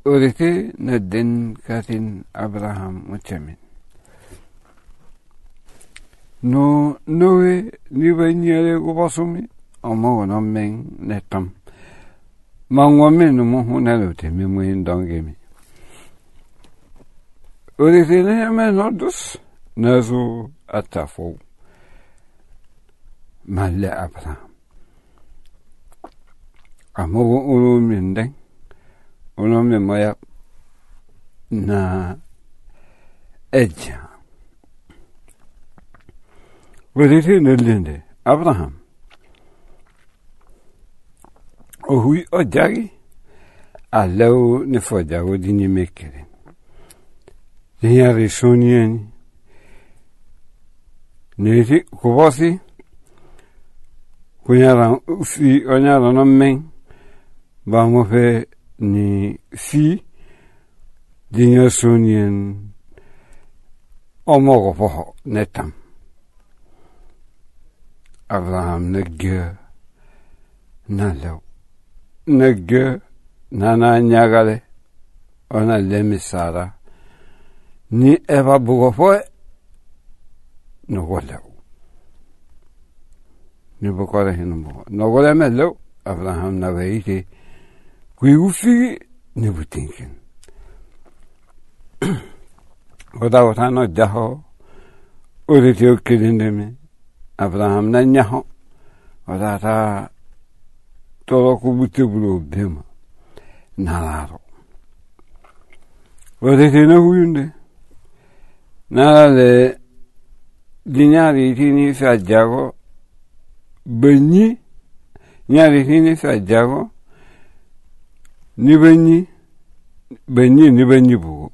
Orite na den katin Abraham muchamin. No noe ni banyere gubasumi omo no men netam. Mangwame no mo hunalote mi mo indongemi. Orite ne menodus nazo atafo. Malle Abraham. Amo ulu mindeng. Uno me moya na edja. Orite ne lende Abraham. Ohui ojagi alau ne fojago dini mekere. Dinya risonieni. Neti kubosi. Kunyara ufi onyara no men. Ba mo fe ni fi dinya sonien omogo poho netam. Abraham negge nalo negge nana nyagale ona lemi Sara ni eva bugofoe no golew ni bokore hinu no gole melo Abraham na veite kui ufi ni butinkin oda otano jaho orite okilindeme Abraham na nyaho oda ta todo kubutebulo bema nalaro orite na huyunde nale dinyari tini fajago benyi nyari tini fajago ni benyi bugo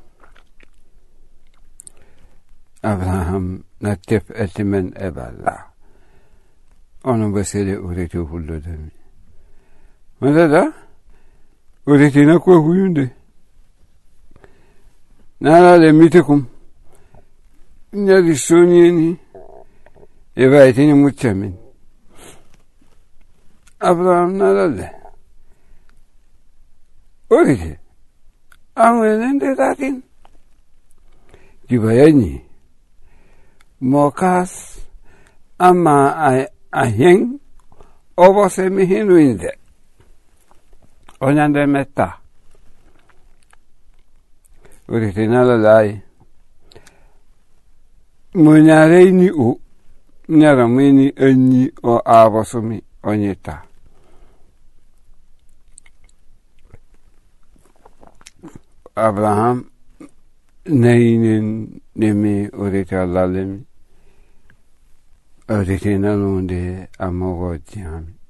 Abraham na tep etimen eballa ono besele urete hullo demi madada urete na ko huyunde nala le mitekum nyari sonieni eva etini muchamin Abraham nala le orite amwenende datin kibayani mokas ama aheng obose mihinuinde onyande meta orite nala lai munyare ni o nyara mini anyi o abosomi onyeta Abraham neinen nemi orite alalemi orite nalonde amogo tiami